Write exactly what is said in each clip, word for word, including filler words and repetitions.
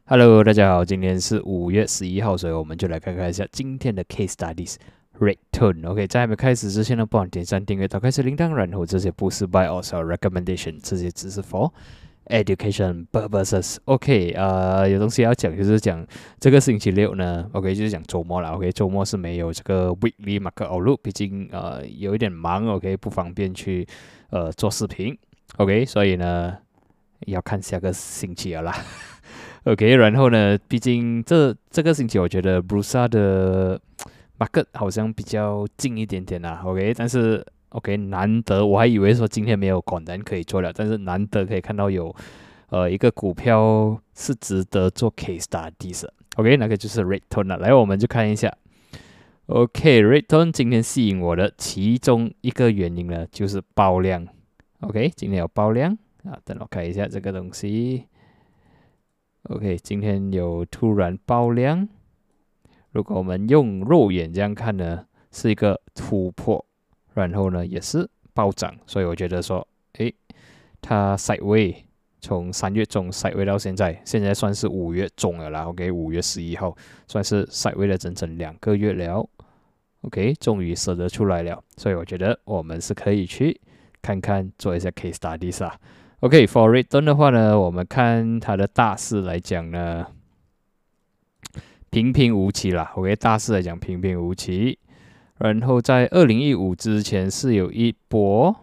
Hello，大家好，今天是五月十一号，所以我们就来看看一下今天的 case studies rate tone。OK，在还没开始之前呢，帮我点赞、订阅、打开小铃铛，然后这些不是 buy or sell recommendation，这些只是 for education purposes。OK，呃，有东西要讲，就是讲这个星期六呢，OK，就是讲周末了。OK，周末是没有这个 weekly market outlook，毕竟呃有一点忙，OK，不方便去呃做视频。OK，所以呢要看下个星期了啦。OK，然后呢，毕竟这这个星期我觉得 Bursa 的 market 好像比较近一点点啦。OK，但是 OK 难得，我还以为说今天没有 content 可以做了，但是难得可以看到有呃一个股票是值得做 case studies 的。OK，那个就是 Red Tone 了。来，我们就看一下。OK，Red Tone 今天吸引我的其中一个原因呢，就是爆量。OK，今天有爆量啊，等我看一下这个东西。OK，今天有突然爆量。如果我们用肉眼这样看呢，是一个突破，然后呢也是暴涨，所以我觉得说，诶，它 sideway 从三月中 sideway 到现在，现在算是五月中了啦。OK，五月十一号算是 sideway 了整整两个月了。OK，终于舍得出来了，所以我觉得我们是可以去看看做一下 case studies 啊。OK，for return 的话呢，我们看它的大势来讲呢，平平无奇啦。OK，大势来讲平平无奇。然后在二零一五之前是有一波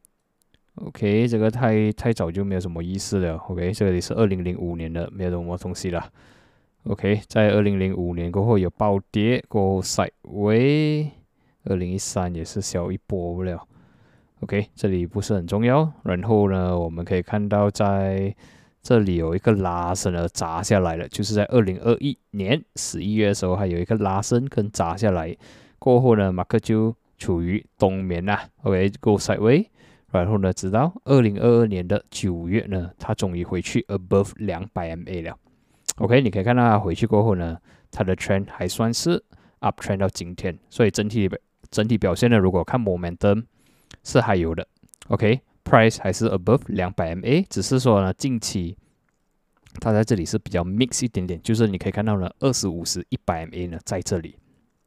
，OK，这个太太早就没有什么意思了。OK，这里是二零零五年的，没有什么东西了。OK，在二零零五年过后有暴跌，过后 sideway， 二零一三也是小一波了。OK， 这里不是很重要。然后呢，我们可以看到在这里有一个拉伸而砸下来了，就是在二零二一年十一月的时候，还有一个拉伸跟砸下来。过后呢，马克就处于冬眠啦。OK，go sideway。然后呢，直到二零二二年的九月呢，它终于回去 above 两百 M A 了。OK， 你可以看到它回去过后呢，它的 trend 还算是 up trend 到今天，所以整体整体表现呢，如果看 momentum。是还有的 ，OK，price、okay? 还是 above 两百 M A， 只是说呢，近期它在这里是比较 mix 一点点，就是你可以看到呢，二十五十、一百 M A 呢在这里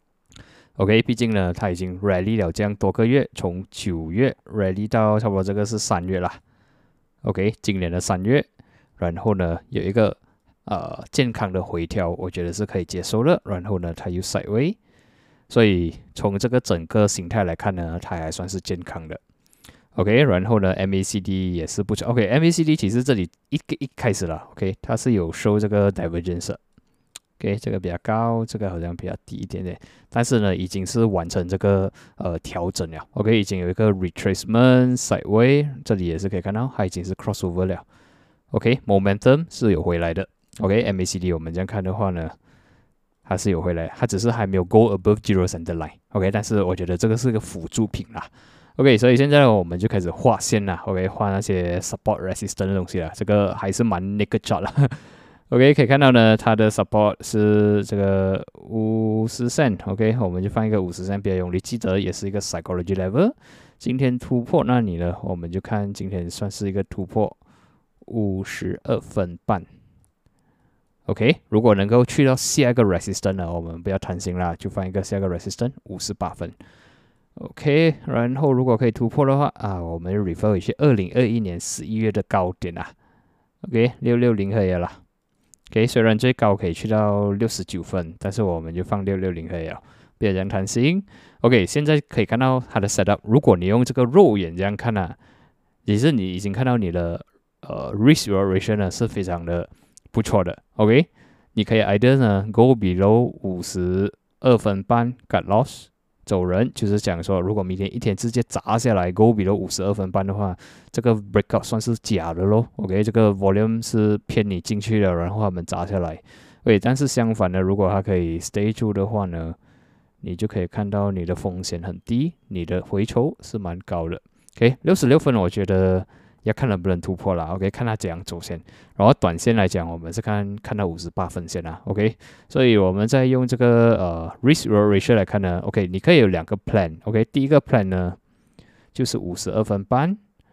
，OK， 毕竟呢，它已经 rally 了这样多个月，从九月 rally 到差不多这个是三月啦 ，OK， 今年的三月，然后呢有一个呃健康的回调，我觉得是可以接受的，然后呢它又 sideway。所以从这个整个形态来看呢，它还算是健康的。OK， 然后呢 ，M A C D 也是不错。OK，M A C D 其实这里一个一开始了 ，OK， 它是有收这个 divergence。OK， 这个比较高，这个好像比较低一点点，但是呢，已经是完成这个呃调整了。OK， 已经有一个 retracement sideway， 这里也是可以看到，它已经是 crossover 了。OK，momentum、okay, 是有回来的。OK，M A C D 我们这样看的话呢。它是有回来，它只是还没有 go above zero center line，OK， 但是我觉得这个是个辅助品啦 ，OK， 所以现在我们就开始画线啦 ，OK， 画那些 support resistance 的东西啦，这个还是蛮 naked chart 啦 ，OK， 可以看到呢，它的 support 是这个五十 cent，OK， 我们就放一个五十 cent， 不要用力，记得也是一个 psychology level， 今天突破那里呢，我们就看今天算是一个突破五十二分半。OK， 如果能够去到下一个 resistance 呢，我们不要贪心啦，就放一个下一个 resistance 五十八分。OK， 然后如果可以突破的话啊，我们 refer 回去二零二一年十一月的高点啊。OK， 六六零可以了。OK， 虽然最高可以去到六十九分，但是我们就放六六零可以了，不要这样贪心。OK， 现在可以看到它的 setup， 如果你用这个肉眼这样看啊，也是你已经看到你的呃 risk ratio 呢是非常的。不错的 ，OK， 你可以 either 呢 go below 五十二分半 cut loss 走人，就是讲说，如果明天一天直接砸下来 go below 五十二分半的话，这个 breakout 算是假的咯 ，OK， 这个 volume 是骗你进去的，然后他们砸下来，对，但是相反的，如果它可以 stay 住的话呢，你就可以看到你的风险很低，你的回抽是蛮高的 ，OK， 六十六分我觉得。要看能不能突破啦 ，OK， 看它怎样走线。然后短线来讲，我们是看看到五十八分线啦 ，OK。所以我们再用这个呃 risk ratio 来看呢 ，OK， 你可以有两个 plan，OK。第一个 plan 呢就是五十二分半，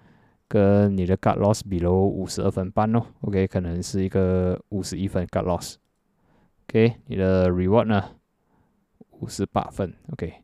跟你的 cut loss below 五十二分半哦 ，OK， 可能是一个五十一分 cut loss，OK， 你的 reward 呢五十八分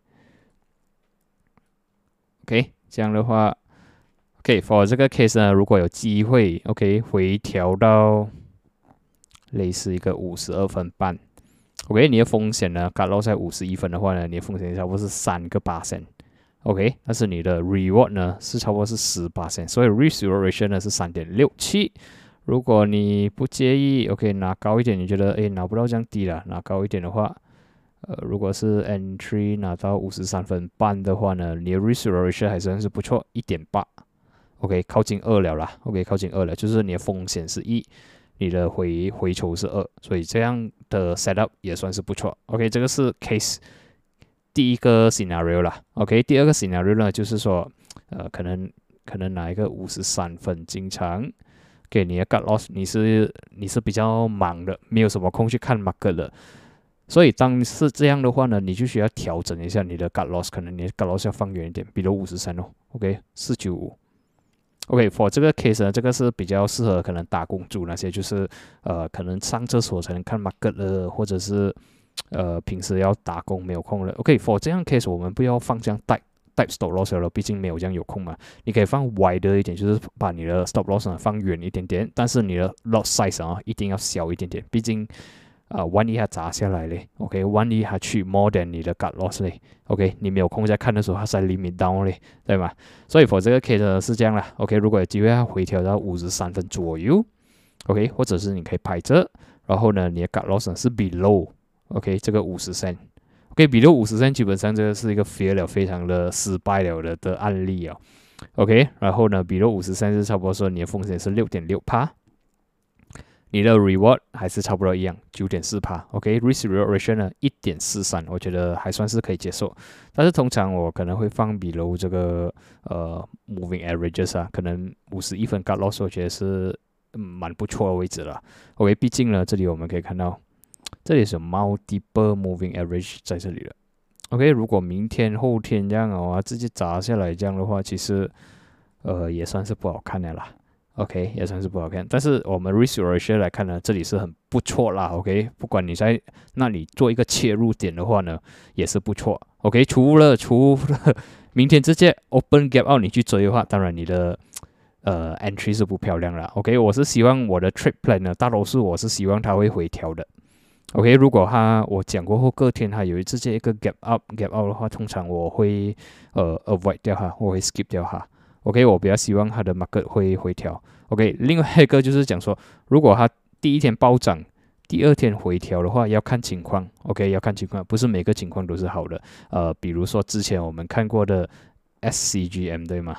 ，OK，OK， 这样的话 ，OK，for 这个 case 呢，如果有机会 ，OK， 回调到类似一个五十二分半 ，OK， 你的风险呢 cut loss 在五十一分的话呢，你的风险差不多是三个八%。OK， 但是你的 reward 呢是差不多是十八%，所以 risk reward ratio 呢是 三点六七。如果你不介意 ，OK 拿高一点，你觉得诶拿不到这样低了，拿高一点的话，呃，如果是 entry 拿到五十三分半的话呢，你的 risk reward ratio 还算是不错， 一点八。OK， 靠近二了啦 ，OK 靠近二了，就是你的风险是一，你的回回酬是二，所以这样的 setup 也算是不错。OK， 这个是 case。第一个 scenario 啦 ，OK， 第二个 scenario 呢，就是说，呃，可能可能拿一个五十三分进场，给你的 cut loss， 你是你是比较忙的，没有什么空去看 market 的，所以当是这样的话呢，你就需要调整一下你的 cut loss， 可能你的 cut loss 要放远一点，比如五十三哦 ，OK， 四九五。OK，for 这个 case 呢，这个是比较适合可能打工族那些，就是呃，可能上厕所才能看 market 的，或者是。呃，平时要打工没有空了。OK，for 这样 case 我们不要放这样 type type stop loss 了，毕竟没有这样有空嘛。你可以放 wider 一点，就是把你的 stop loss 呢放远一点点，但是你的 lot size 啊一定要小一点点，毕竟啊、呃、万一它砸下来嘞 ，OK， 万一它去 more than 你的 cut loss 嘞 ，OK， 你没有空在看的时候，它在 limit down 嘞，对吗？所以 for 这个 case 呢是这样啦 ，OK， 如果有机会它回调到五十三分左右 ，OK， 或者是你可以拍着，然后呢你的 cut loss 呢是 below。OK， 这个五十 cent，OK， 比如五十 cent 基本上这个是一个 fail 了，非常的失败了的的案例啊。OK， 然后呢，比如五十 cent 是差不多说你的风险是 六点六%， 你的 reward 还是差不多一样 九点四%。OK，risk reward ratio 呢 一点四三， 我觉得还算是可以接受。但是通常我可能会放比如这个呃 moving averages 啊，可能五十一分 cut loss 我觉得是蛮不错的位置了。OK， 毕竟呢，这里我们可以看到。这里是 multiple moving average 在这里了 ，OK， 如果明天后天这样哦，直接砸下来这样的话，其实呃也算是不好看的啦 ，OK， 也算是不好看。但是我们 risk ratio 来看呢，这里是很不错啦 ，OK， 不管你在那里做一个切入点的话呢，也是不错 ，OK， 除了除了明天直接 open gap out 你去追的话，当然你的呃 entry 是不漂亮啦 ，OK， 我是希望我的 trade plan 呢，大多数我是希望它会回调的。OK， 如果它我讲过后隔天它有直接一个 gap up gap out 的话，通常我会呃 avoid 掉它，我会 skip 掉它。OK， 我比较希望它的 market 会回调。OK， 另外一个就是讲说，如果它第一天暴涨，第二天回调的话，要看情况。OK， 要看情况，不是每个情况都是好的。呃，比如说之前我们看过的 S C G M 对吗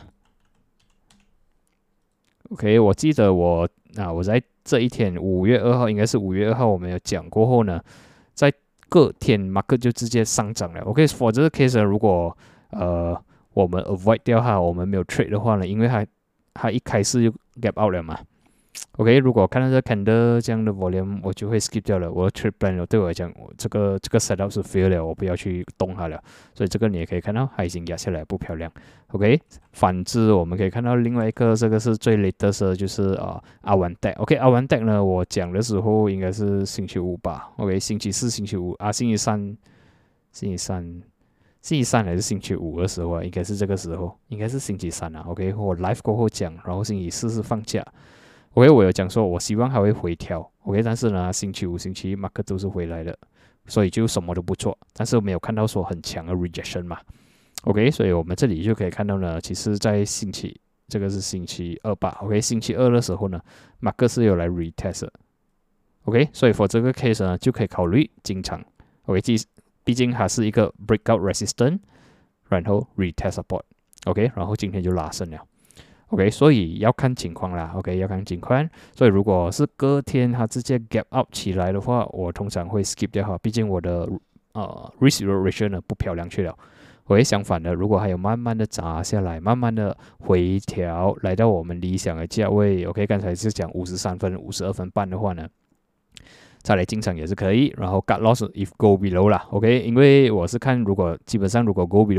？OK， 我记得我啊我在。这一天五月二号应该是五月二号，我们有讲过后呢，在隔天 market 就直接上涨了。OK，for 这个 case 呢，如果呃我们 avoid 掉它，我们没有 trade 的话呢，因为它它一开始就 gap out 了嘛。OK， 如果看到这 candle 这样的 volume， 我就会 skip 掉了。我的 trade plan 对我来讲，我这个这个 setup 是 fail 了，我不要去动它了。所以这个你也可以看到，它已经压下来，不漂亮。OK， 反之我们可以看到另外一个，这个是最 latest 的，就是啊阿完 deck。OK， 阿完 deck 呢，我讲的时候应该是星期五吧。OK， 星期四、星期五啊，星期三、星期三、星期三还是星期五的时候啊，应该是这个时候，应该是星期三啊。OK， 我 live 过后讲，然后星期四是放假。OK， 我有讲说，我希望它会回调。OK， 但是呢，星期五、星期一 market 都是回来的，所以就什么都不做。但是没有看到说很强的 rejection 嘛。OK， 所以我们这里就可以看到呢，其实在星期这个是星期二吧。OK， 星期二的时候呢 ，market 是有来 retest 的。OK， 所以 for 这个 case 呢，就可以考虑进场。OK， 毕竟它是一个 breakout resistance， 然后 retest support。OK， 然后今天就拉升了。OK， 所以要看情况啦。OK， 要看情况。所以如果是隔天它直接 gap up 起来的话，我通常会 skip 掉哈。毕竟我的呃 risk ratio 呢不漂亮去了。OK， 相反的，如果还有慢慢的砸下来，慢慢的回调，来到我们理想的价位 ，OK， 刚才是讲五十三分、五十二分半的话呢，再来进场也是可以。然后 cut loss if go below 啦 ，OK， 因为我是看如果基本上如果 go below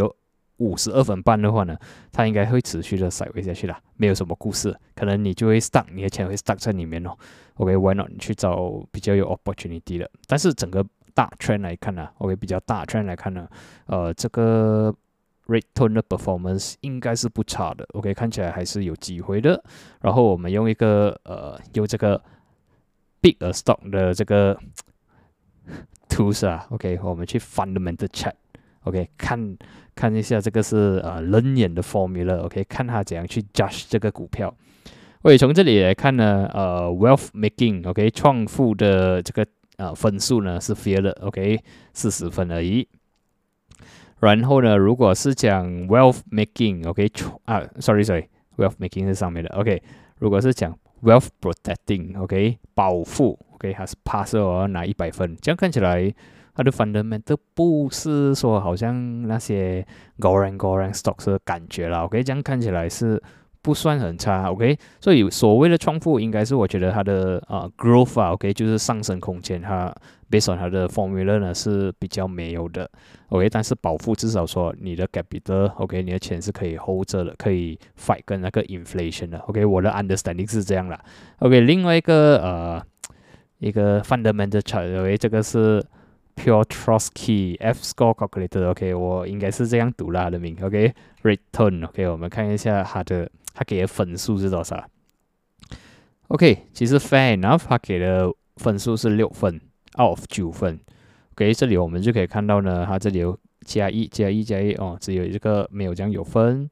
五十二分半的话呢，它应该会持续的 sideways 下去啦，没有什么故事，可能你就会 stuck， 你的钱会 stuck 在里面哦。OK，why not 你去找比较有 opportunity 的？但是整个大 trend 来看呢 ，OK， 比较大 trend 来看呢，呃，这个 Red Tone 的 performance 应该是不差的 ，OK， 看起来还是有机会的。然后我们用一个呃，用这个 Big a Stock 的这个 tools 啊 ，OK， 我们去 fundamental chart。OK， 看看一下这个是呃人眼的 formula，OK， 看它怎样去 judge 这个股票。OK， 从这里来看呢，呃 ，wealth making，OK， 创富的这个呃分数呢是 fair 的 ，OK， 四十分而已。然后呢，如果是讲 wealth making，OK， 啊，sorry sorry，wealth making 是上面的 ，OK， 如果是讲 wealth protecting，OK， 保护 ，OK， 还是 pass 哦，拿一百分，这样看起来。它的 fundamental 不是说好像那些 goreng goreng stocks 的感觉啦 ，OK， 这样看起来是不算很差 ，OK， 所以所谓的创富应该是我觉得它的呃 growth 啊 ，OK， 就是上升空间，它 based on 它的 formula 呢是比较没有的 ，OK， 但是保护至少说你的 capital，OK， 你的钱是可以 hold 着的，可以 fight 跟那个 inflation 的 ，OK， 我的 understanding 是这样啦 ，OK， 另外一个呃一个 fundamental chart，OK， 这个是。Pure Trotsky F score calculator，OK， 我应该是这样读啦的名 ，OK，Return，OK， 我们看一下它的它给的分数是多少 ？OK， 其实 fair enough， 它给的分数是六分 ，out of 九分。OK， 这里我们就可以看到呢，它这里有加一加一加一哦，只有这个没有这样有分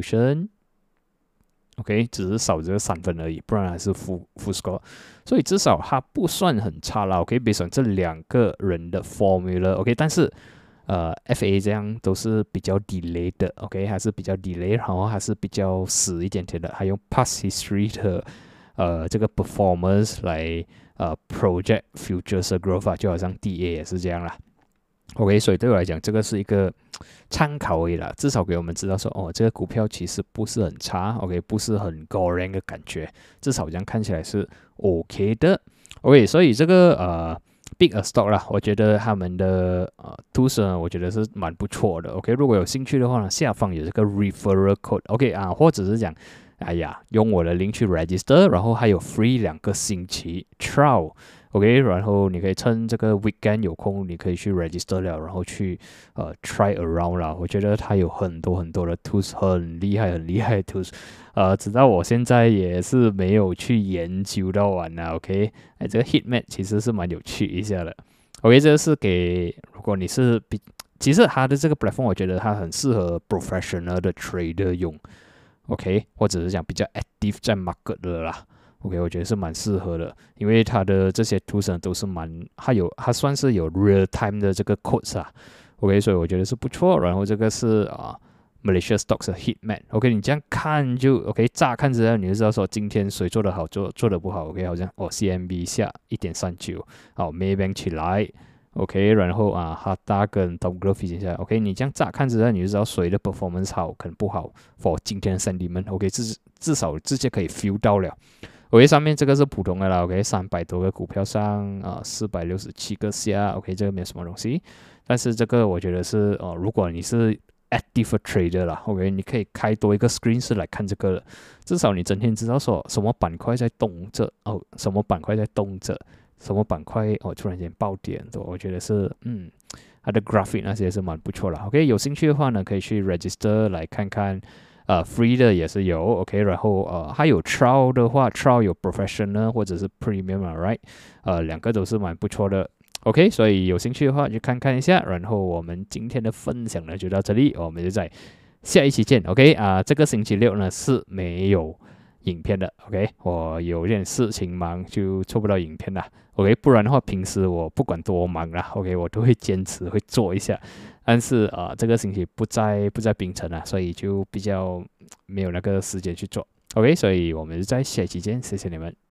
dilution。OK， 只是少这个三分而已，不然还是 full full score， 所以至少它不算很差啦。OK， based on 这两个人的 formula，OK， 但是呃 F A 这样都是比较 delay 的 ，OK， 还是比较 delay， 然后还是比较死一点点的，还用 past history 的呃这个 performance 来呃 project futures growth， 就好像 D A 也是这样啦。OK， 所以对我来讲，这个是一个参考而已啦，至少给我们知道说，哦，这个股票其实不是很差 ，OK， 不是很 goreng 的感觉，至少这样看起来是 OK 的 ，OK， 所以这个呃 Big a Stock 啦，我觉得他们的呃 tools 呢，我觉得是蛮不错的 ，OK， 如果有兴趣的话呢，下方有这个 referral code，OK 啊，或者是讲，哎呀，用我的 link 去 register， 然后还有 free 两个星期 trial。OK， 然后你可以趁这个 weekend 有空，你可以去 register 了，然后去呃 try around 啦。我觉得它有很多很多的 tools， 很厉害很厉害的 tools， 呃，直到我现在也是没有去研究到完啦。OK， 哎，这个 Heatmap 其实是蛮有趣一下的。OK， 这个是给如果你是比，其实它的这个 platform 我觉得它很适合 professional 的 trader 用。OK， 或者是讲比较 active 在 market 的啦。OK， 我觉得是蛮适合的，因为它的这些 tools 都是蛮，它有它算是有 real time 的这个 codes 啊 ，OK， 所以我觉得是不错。然后这个是啊、呃、Malaysia Stocks 的 Heatmap，OK， 你这样看就 OK， 乍看之下你就知道说今天谁做得好，做做得不好 ，OK， 好像哦 C M B 下 一点三九， 好 Maybank 起来 ，OK， 然后啊 Hata 跟 Top Growth 一下 ，OK， 你这样乍看之下你就知道谁的 performance 好，可能不好 ，for 今天的 sentiment，OK， 至至少直接可以 feel 到了。OK， 上面这个是普通的啦 ，OK， 三百多个股票上啊，四百六十七个下 ，OK， 这个没有什么东西。但是这个我觉得是哦、呃，如果你是 active trader 啦 ，OK， 你可以开多一个 screen 是来看这个的，至少你整天知道说什么板块在动着哦，什么板块在动着，什么板块哦突然间爆点，我觉得是嗯，它的 graphic 那些是蛮不错的 ，OK， 有兴趣的话呢，可以去 register 来看看。呃 ，free 的也是有 ，OK， 然后呃，还有 trial 的话 ，trial 有 professional 或者是 premium，right， 呃，两个都是蛮不错的 ，OK， 所以有兴趣的话就看看一下。然后我们今天的分享呢就到这里，我们就在下一期见 ，OK， 啊、呃，这个星期六呢是没有影片的 ，OK， 我有点事情忙就做不到影片啦 ，OK， 不然的话平时我不管多忙啦 ，OK， 我都会坚持会做一下。但是啊、呃，这个星期不在不在槟城啊，所以就比较没有那个时间去做。OK， 所以我们在下期见，谢谢你们。